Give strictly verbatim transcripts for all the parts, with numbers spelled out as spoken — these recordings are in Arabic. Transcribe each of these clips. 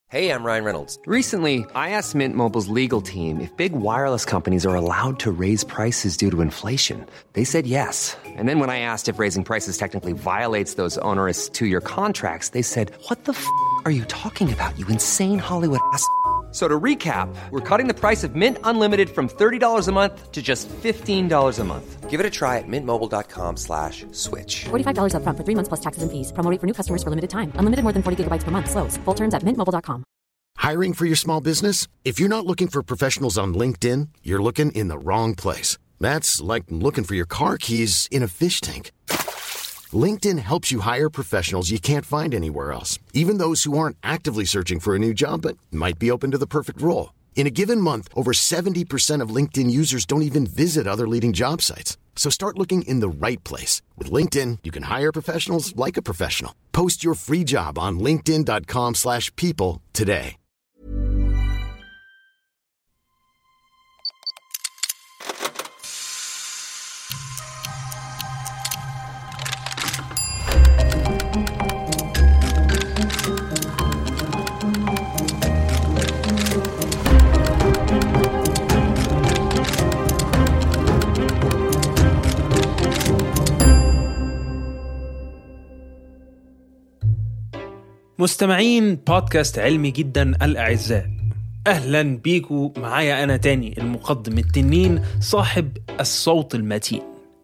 Hey, I'm Ryan Reynolds. Recently, I asked Mint Mobile's legal team if big wireless companies are allowed to raise prices due to inflation. They said yes. And then when I asked if raising prices technically violates those onerous two-year contracts, they said, "What the f*** are you talking about, you insane Hollywood ass?" So to recap, we're cutting the price of Mint Unlimited from thirty dollars a month to just fifteen dollars a month. Give it a try at mintmobile.com slash switch. forty-five dollars up front for three months plus taxes and fees. Promo rate for new customers for limited time. Unlimited more than forty gigabytes per month. Slows full terms at mint mobile dot com. Hiring for your small business? If you're not looking for professionals on LinkedIn, you're looking in the wrong place. That's like looking for your car keys in a fish tank. LinkedIn helps you hire professionals you can't find anywhere else, even those who aren't actively searching for a new job but might be open to the perfect role. In a given month, over seventy percent of LinkedIn users don't even visit other leading job sites. So start looking in the right place. With LinkedIn, you can hire professionals like a professional. Post your free job on linkedin.com slash people today. مستمعين بودكاست علمي جدا الأعزاء، أهلا بيكو معايا أنا تاني المقدم التنين صاحب الصوت المتين.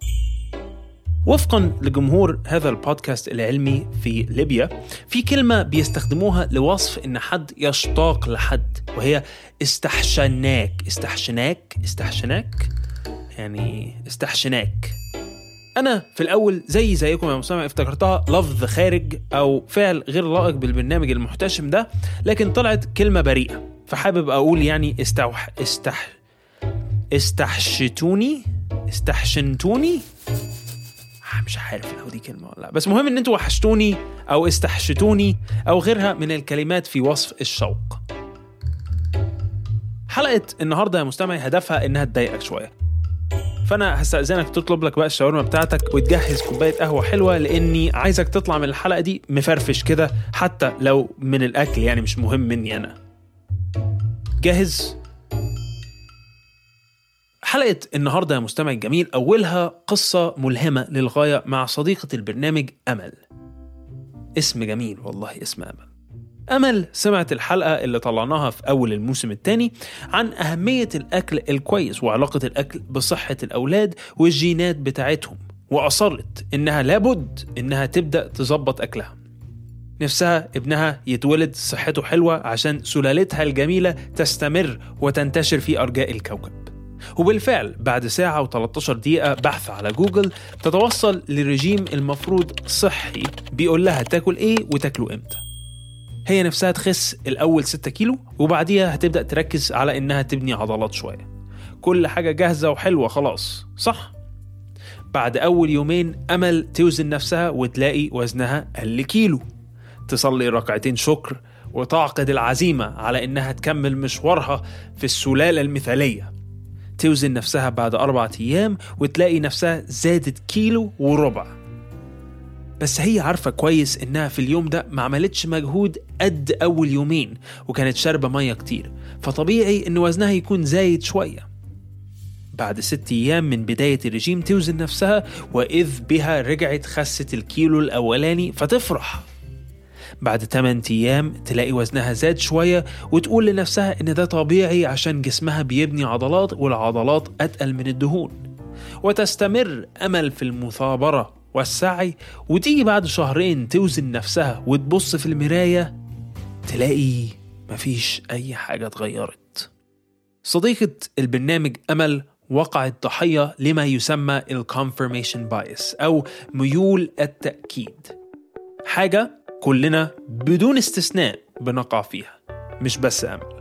وفقا لجمهور هذا البودكاست العلمي في ليبيا، في كلمة بيستخدموها لوصف إن حد يشتاق لحد، وهي استحشناك. استحشناك استحشناك يعني استحشناك. أنا في الأول زي زيكم يا مستمع افتكرتها لفظ خارج أو فعل غير لائق بالبرنامج المحتشم ده، لكن طلعت كلمة بريئة، فحابب أقول يعني استوح استح استحشتوني استحشنتوني مش عارف لو دي كلمة ولا لا، بس مهم إن انتوا وحشتوني أو استحشتوني أو غيرها من الكلمات في وصف الشوق. حلقة النهاردة يا مستمعي هدفها إنها تضايقك شوية، فأنا هستأذنك تطلب لك بقى الشاورما بتاعتك وتجهز كوباية قهوة حلوة، لأني عايزك تطلع من الحلقة دي مفرفش كده، حتى لو من الأكل يعني مش مهم مني أنا. جاهز؟ حلقة النهاردة يا مستمع الجميل أولها قصة ملهمة للغاية مع صديقة البرنامج أمل. اسم جميل والله، اسم أمل. أمل سمعت الحلقة اللي طلعناها في أول الموسم الثاني عن أهمية الأكل الكويس وعلاقة الأكل بصحة الأولاد والجينات بتاعتهم، وأصرت إنها لابد إنها تبدأ تزبط أكلها. نفسها ابنها يتولد صحته حلوة عشان سلالتها الجميلة تستمر وتنتشر في أرجاء الكوكب. وبالفعل بعد ساعة وثلاثة عشر دقيقة بحث على جوجل تتوصل لرجيم المفروض صحي بيقول لها تاكل إيه وتاكله إمتى. هي نفسها تخس الأول ستة كيلو، وبعديها هتبدأ تركز على إنها تبني عضلات شوية. كل حاجة جاهزة وحلوة خلاص، صح؟ بعد أول يومين أمل توزن نفسها وتلاقي وزنها قل كيلو. تصلي ركعتين شكر وتعقد العزيمة على إنها تكمل مشوارها في السلالة المثالية. توزن نفسها بعد أربعة أيام وتلاقي نفسها زادت كيلو وربع. بس هي عارفة كويس إنها في اليوم ده ما عملتش مجهود قد أول يومين، وكانت شاربة مية كتير، فطبيعي إن وزنها يكون زايد شوية. بعد ست أيام من بداية الرجيم توزن نفسها وإذ بها رجعت خست الكيلو الأولاني، فتفرح. بعد ثمانية أيام تلاقي وزنها زاد شوية وتقول لنفسها إن ده طبيعي عشان جسمها بيبني عضلات، والعضلات أتقل من الدهون. وتستمر أمل في المثابرة والسعي، وتيجي بعد شهرين توزن نفسها وتبص في المراية تلاقي مفيش أي حاجة اتغيرت. صديقة البرنامج أمل وقعت ضحية لما يسمى الconfirmation bias أو ميول التأكيد، حاجة كلنا بدون استثناء بنقع فيها، مش بس أمل.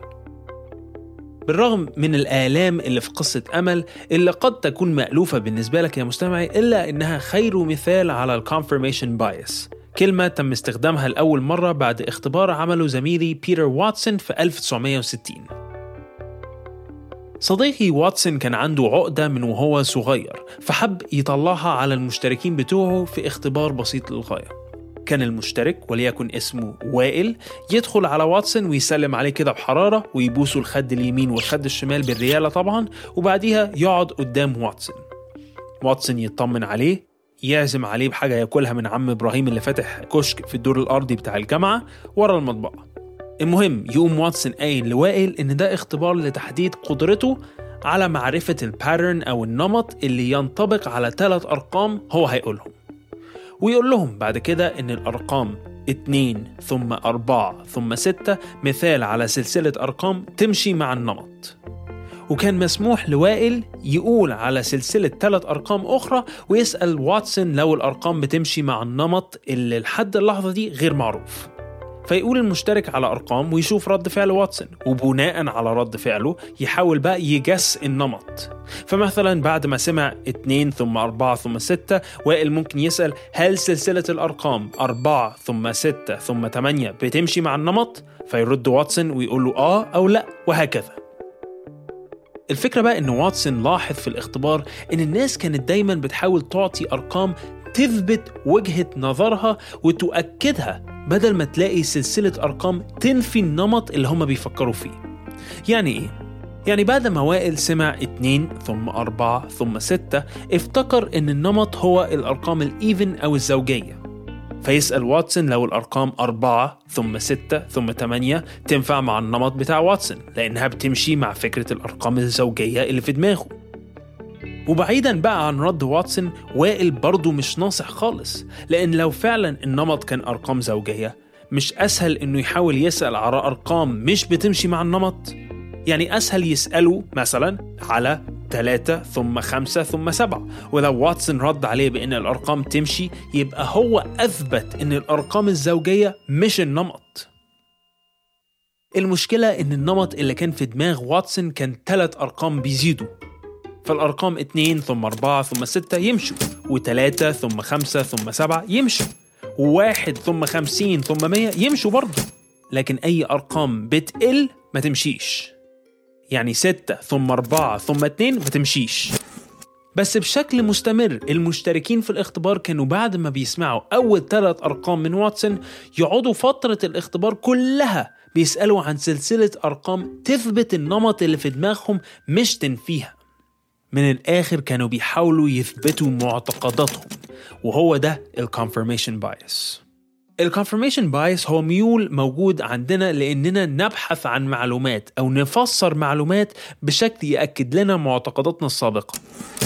بالرغم من الآلام اللي في قصة أمل اللي قد تكون مألوفة بالنسبة لك يا مستمعي، إلا إنها خير مثال على الconfirmation bias، كلمة تم استخدامها لأول مرة بعد اختبار عمله زميلي بيتر واتسون في ألف وتسعمية وستين. صديقي واتسون كان عنده عقدة من وهو صغير، فحب يطلعها على المشتركين بتوعه في اختبار بسيط للغاية. كان المشترك وليكن اسمه وائل يدخل على واتسون ويسلم عليه كده بحرارة ويبوسوا الخد اليمين والخد الشمال بالريالة طبعا، وبعديها يقعد قدام واتسون. واتسون يطمن عليه، يعزم عليه بحاجة ياكلها من عم إبراهيم اللي فاتح كشك في الدور الأرضي بتاع الجامعة ورا المطبعة. المهم يقوم واتسون قايل لوائل إن ده اختبار لتحديد قدرته على معرفة الباترن أو النمط اللي ينطبق على ثلاث أرقام هو هيقولهم، ويقول لهم بعد كده إن الأرقام اتنين ثم أربعة ثم ستة مثال على سلسلة أرقام تمشي مع النمط. وكان مسموح لوائل يقول على سلسلة ثلاث أرقام أخرى ويسأل واتسون لو الأرقام بتمشي مع النمط اللي لحد اللحظة دي غير معروف، فيقول المشترك على أرقام ويشوف رد فعل واتسون، وبناء على رد فعله يحاول بقى يجس النمط. فمثلا بعد ما سمع اتنين ثم أربعة ثم ستة، وائل ممكن يسأل هل سلسلة الأرقام أربعة ثم ستة ثم تمانية بتمشي مع النمط؟ فيرد واتسون ويقول له آه أو لأ، وهكذا. الفكرة بقى إن واتسون لاحظ في الاختبار إن الناس كانت دايما بتحاول تعطي أرقام تثبت وجهة نظرها وتؤكدها بدل ما تلاقي سلسلة أرقام تنفي النمط اللي هم بيفكروا فيه. يعني إيه؟ يعني بعد ما وائل سمع اتنين ثم أربعة ثم ستة افتكر إن النمط هو الأرقام الإيفن أو الزوجية، فيسأل واتسون لو الأرقام أربعة ثم ستة ثم تمانية تنفع مع النمط بتاع واتسون لأنها بتمشي مع فكرة الأرقام الزوجية اللي في دماغه. وبعيدا بقى عن رد واتسون، وائل برضو مش ناصح خالص، لأن لو فعلا النمط كان أرقام زوجية مش أسهل إنه يحاول يسأل على أرقام مش بتمشي مع النمط؟ يعني أسهل يسأله مثلا على ثلاثة ثم خمسة ثم سبعة، ولو واتسون رد عليه بأن الأرقام تمشي يبقى هو أثبت أن الأرقام الزوجية مش النمط. المشكلة أن النمط اللي كان في دماغ واتسون كان ثلاث أرقام بيزيدوا، فالأرقام اتنين ثم أربعة ثم ستة يمشوا، وثلاثة ثم خمسة ثم سبعة يمشوا، وواحد ثم خمسين ثم مية يمشوا برضو، لكن أي أرقام بتقل ما تمشيش. يعني ستة ثم أربعة ثم اتنين ما تمشيش. بس بشكل مستمر المشتركين في الاختبار كانوا بعد ما بيسمعوا أول ثلاث أرقام من واتسون يقعدوا فترة الاختبار كلها بيسألوا عن سلسلة أرقام تثبت النمط اللي في دماغهم مش تنفيها. من الآخر كانوا بيحاولوا يثبتوا معتقداتهم، وهو ده الكونفرميشن بايس. الكونفرميشن بايس هو ميول موجود عندنا لأننا نبحث عن معلومات أو نفسر معلومات بشكل يأكد لنا معتقداتنا السابقة.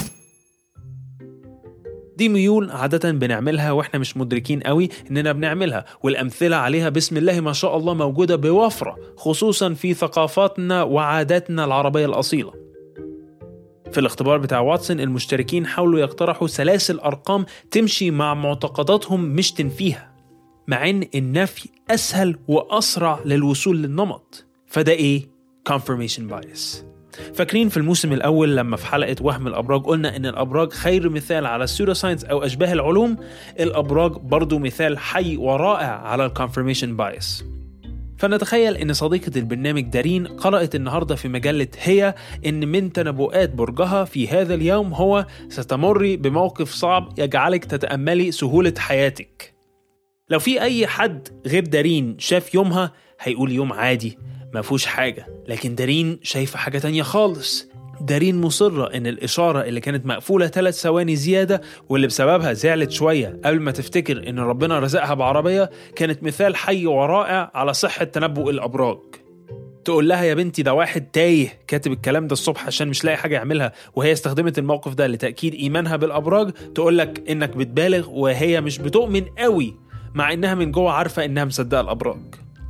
دي ميول عادة بنعملها وإحنا مش مدركين قوي إننا بنعملها، والأمثلة عليها بسم الله ما شاء الله موجودة بوفرة، خصوصا في ثقافاتنا وعاداتنا العربية الأصيلة. في الاختبار بتاع واتسون المشتركين حاولوا يقترحوا سلاسل أرقام تمشي مع معتقداتهم مش تنفيها، مع إن النفي أسهل وأسرع للوصول للنمط. فده إيه؟ confirmation bias. فاكرين في الموسم الأول لما في حلقة وهم الأبراج قلنا إن الأبراج خير مثال على السيودوساينس أو أشباه العلوم؟ الأبراج برضو مثال حي ورائع على confirmation bias. فنتخيل إن صديقة البرنامج دارين قرأت النهاردة في مجلة هي إن من تنبؤات برجها في هذا اليوم هو ستمري بموقف صعب يجعلك تتأملي سهولة حياتك. لو في أي حد غير دارين شاف يومها هيقول يوم عادي ما فيهوش حاجة، لكن دارين شايفة حاجة تانية خالص. دارين مصرة إن الإشارة اللي كانت مقفولة ثلاث ثواني زيادة واللي بسببها زعلت شوية قبل ما تفتكر إن ربنا رزقها بعربية كانت مثال حي ورائع على صحة تنبؤ الأبراج. تقول لها يا بنتي ده واحد تايه كاتب الكلام ده الصبح عشان مش لاقي حاجة يعملها، وهي استخدمت الموقف ده لتأكيد إيمانها بالأبراج، تقولك إنك بتبالغ وهي مش بتؤمن قوي مع إنها من جوه عارفة إنها مصدقة الأبراج.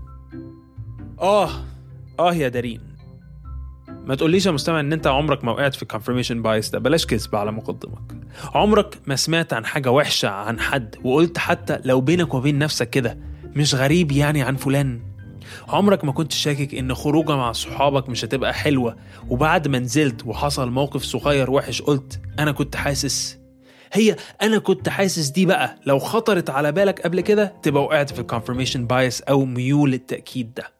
آه آه يا دارين، ما تقوليش يا مستمع إن أنت عمرك ما وقعت في confirmation bias ده، بلاش كذب على مقدمك. عمرك ما سمعت عن حاجة وحشة عن حد وقلت حتى لو بينك وبين نفسك كده مش غريب يعني عن فلان؟ عمرك ما كنت شاكك إن خروجة مع صحابك مش هتبقى حلوة وبعد ما نزلت وحصل موقف صغير وحش قلت أنا كنت حاسس؟ هي أنا كنت حاسس دي بقى لو خطرت على بالك قبل كده تبقى وقعت في confirmation bias أو ميول التأكيد ده.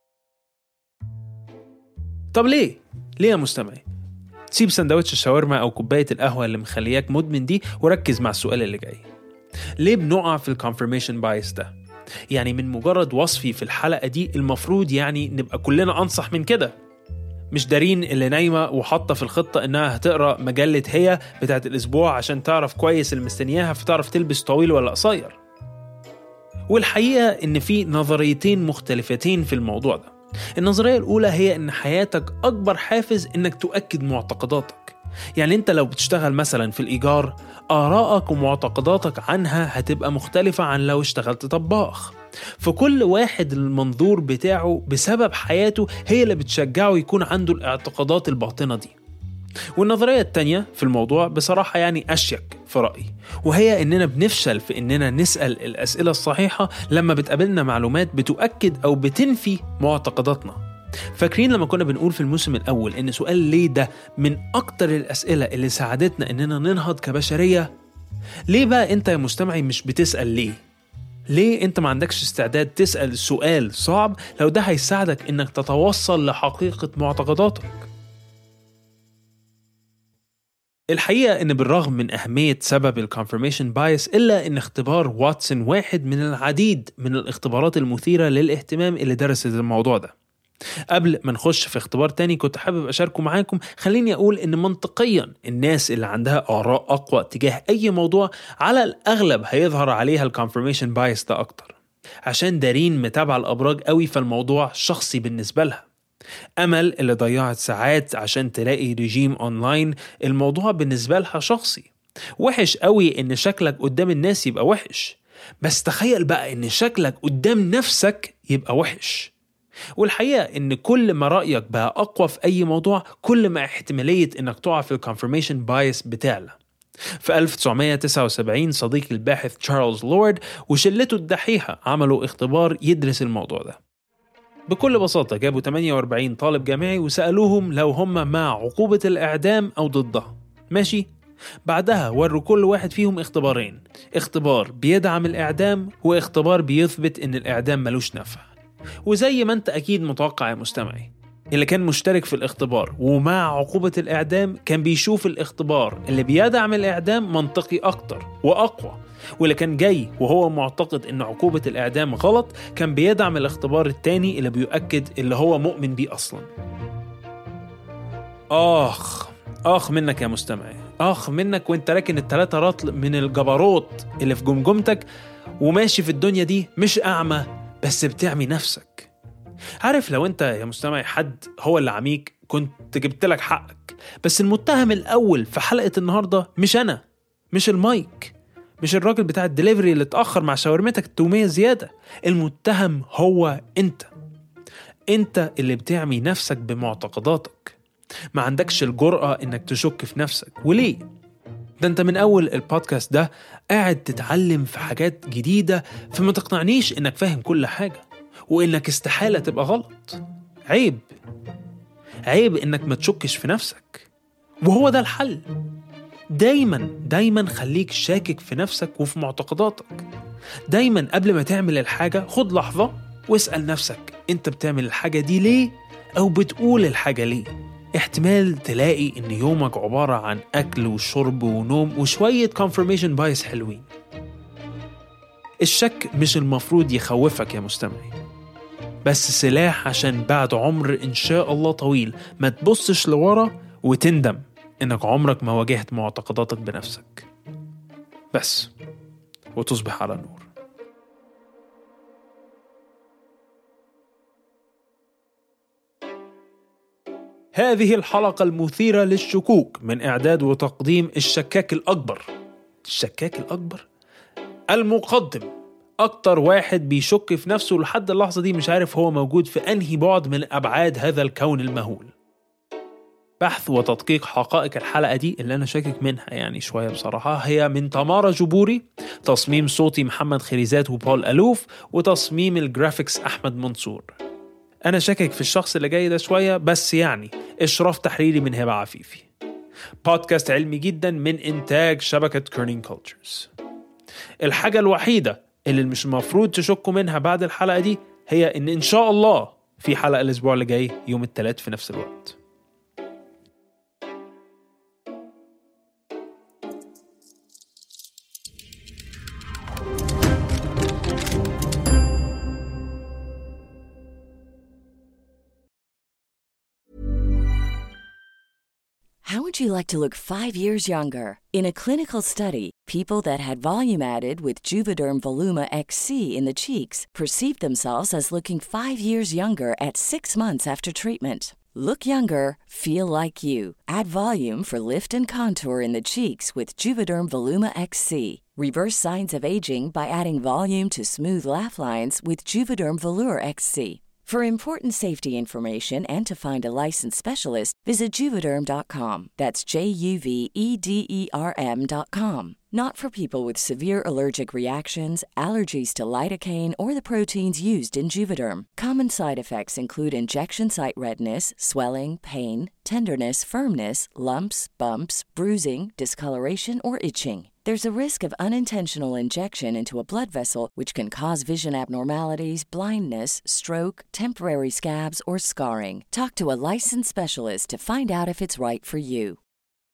طب ليه؟ ليه يا مستمعي؟ سيب سندوتش الشاورما أو كوباية القهوة اللي مخلياك مدمن دي وركز مع السؤال اللي جاي. ليه بنقع في الكونفirmation بايس ده؟ يعني من مجرد وصفي في الحلقة دي المفروض يعني نبقى كلنا أنصح من كده، مش دارين اللي نايمة وحاطة في الخطة إنها هتقرأ مجلة هي بتاعت الأسبوع عشان تعرف كويس المستنياها فتعرف تلبس طويل ولا قصير. والحقيقة إن في نظريتين مختلفتين في الموضوع ده. النظرية الأولى هي إن حياتك أكبر حافز إنك تؤكد معتقداتك. يعني أنت لو بتشتغل مثلا في الإيجار، آرائك ومعتقداتك عنها هتبقى مختلفة عن لو اشتغلت طباخ. فكل واحد المنظور بتاعه بسبب حياته هي اللي بتشجعه يكون عنده الاعتقادات الباطنة دي. والنظرية التانية في الموضوع بصراحة يعني أشيك في رأيي، وهي إننا بنفشل في إننا نسأل الأسئلة الصحيحة لما بتقابلنا معلومات بتؤكد أو بتنفي معتقداتنا. فاكرين لما كنا بنقول في الموسم الأول إن سؤال ليه ده من أكتر الأسئلة اللي ساعدتنا إننا ننهض كبشرية؟ ليه بقى أنت يا مستمعي مش بتسأل ليه؟ ليه أنت ما عندكش استعداد تسأل سؤال صعب لو ده هيساعدك إنك تتوصل لحقيقة معتقداتك؟ الحقيقة إن بالرغم من أهمية سبب الكونفirmation بايس إلا إن اختبار واتسون واحد من العديد من الاختبارات المثيرة للاهتمام اللي درست الموضوع ده. قبل ما نخش في اختبار تاني كنت حابب أشاركه معاكم، خليني أقول إن منطقيا الناس اللي عندها آراء أقوى تجاه أي موضوع على الأغلب هيظهر عليها الكونفirmation بايس ده أكتر، عشان دارين متابعة الأبراج قوي فالموضوع شخصي بالنسبة لها. أمل اللي ضيعت ساعات عشان تلاقي ريجيم أونلاين، الموضوع بالنسبة لها شخصي. وحش قوي إن شكلك قدام الناس يبقى وحش، بس تخيل بقى إن شكلك قدام نفسك يبقى وحش. والحقيقة إن كل ما رأيك بقى أقوى في أي موضوع كل ما احتمالية إنك تقع في الكونفirmation بايس بتعلى. في ألف وتسعمية وتسعة وسبعين صديق الباحث تشارلز لورد وشلته الدحيحة عملوا اختبار يدرس الموضوع ده. بكل بساطة جابوا ثمانية وأربعين طالب جامعي وسألوهم لو هم مع عقوبة الإعدام أو ضدها. ماشي؟ بعدها وروا كل واحد فيهم اختبارين، اختبار بيدعم الإعدام واختبار بيثبت إن الإعدام ملوش نفع. وزي ما أنت أكيد متوقع يا مستمعي، اللي كان مشترك في الاختبار ومع عقوبة الإعدام كان بيشوف الاختبار اللي بيدعم الإعدام منطقي أكتر وأقوى، واللي كان جاي وهو معتقد إن عقوبة الإعدام غلط كان بيدعم الاختبار التاني اللي بيؤكد اللي هو مؤمن بيه أصلا. آخ آخ منك يا مستمعي، آخ منك وانت راكن التلاتة رطل من الجبروت اللي في جمجمتك وماشي في الدنيا دي مش أعمى بس بتعمي نفسك. عارف لو انت يا مستمعي حد هو اللي عميك كنت جبت لك حقك، بس المتهم الأول في حلقة النهاردة مش أنا، مش المايك، مش الراجل بتاع الدليفري اللي اتأخر مع شاورمتك التومية زيادة. المتهم هو انت، انت اللي بتعمي نفسك بمعتقداتك. ما عندكش الجرأة انك تشك في نفسك. وليه؟ ده انت من اول البودكاست ده قاعد تتعلم في حاجات جديدة، فما تقنعنيش انك فاهم كل حاجة وانك استحالة تبقى غلط. عيب عيب انك ما تشكش في نفسك، وهو ده الحل. دايما دايما خليك شاكك في نفسك وفي معتقداتك. دايما قبل ما تعمل الحاجة خد لحظة واسأل نفسك انت بتعمل الحاجة دي ليه او بتقول الحاجة ليه. احتمال تلاقي ان يومك عبارة عن اكل وشرب ونوم وشوية confirmation بايس حلوين. الشك مش المفروض يخوفك يا مستمعي، بس سلاح عشان بعد عمر إن شاء الله طويل ما تبصش لورا وتندم إنك عمرك ما واجهت معتقداتك بنفسك بس، وتصبح على نور. هذه الحلقة المثيرة للشكوك من إعداد وتقديم الشكاك الأكبر. الشكاك الأكبر؟ المقدم، أكتر واحد بيشك في نفسه لحد اللحظة دي مش عارف هو موجود في أنهي بعد من أبعاد هذا الكون المهول. بحث وتدقيق حقائق الحلقة دي اللي أنا شاكك منها يعني شوية بصراحة هي من تمارا جبوري، تصميم صوتي محمد خريزات وبول ألوف، وتصميم الجرافيكس أحمد منصور. أنا شاكك في الشخص اللي جاي ده شوية بس يعني إشراف تحريري من هبة عفيفي. بودكاست علمي جدا من إنتاج شبكة كيرنينج كولتشرز. الحاجة الوحيدة اللي مش المفروض تشكوا منها بعد الحلقة دي هي إن إن شاء الله في حلقة الأسبوع اللي جاي يوم الثلاث في نفس الوقت. would you like to look five years younger? In a clinical study, people that had volume added with Juvederm Voluma X C in the cheeks perceived themselves as looking five years younger at six months after treatment. Look younger, feel like you. Add volume for lift and contour in the cheeks with Juvederm Voluma X C. Reverse signs of aging by adding volume to smooth laugh lines with Juvederm Volure X C. For important safety information and to find a licensed specialist, visit Juvederm dot com. That's J U V E D E R M dot com. Not for people with severe allergic reactions, allergies to lidocaine, or the proteins used in Juvederm. Common side effects include injection site redness, swelling, pain, tenderness, firmness, lumps, bumps, bruising, discoloration, or itching. There's a risk of unintentional injection into a blood vessel, which can cause vision abnormalities, blindness, stroke, temporary scabs, or scarring. Talk to a licensed specialist to find out if it's right for you.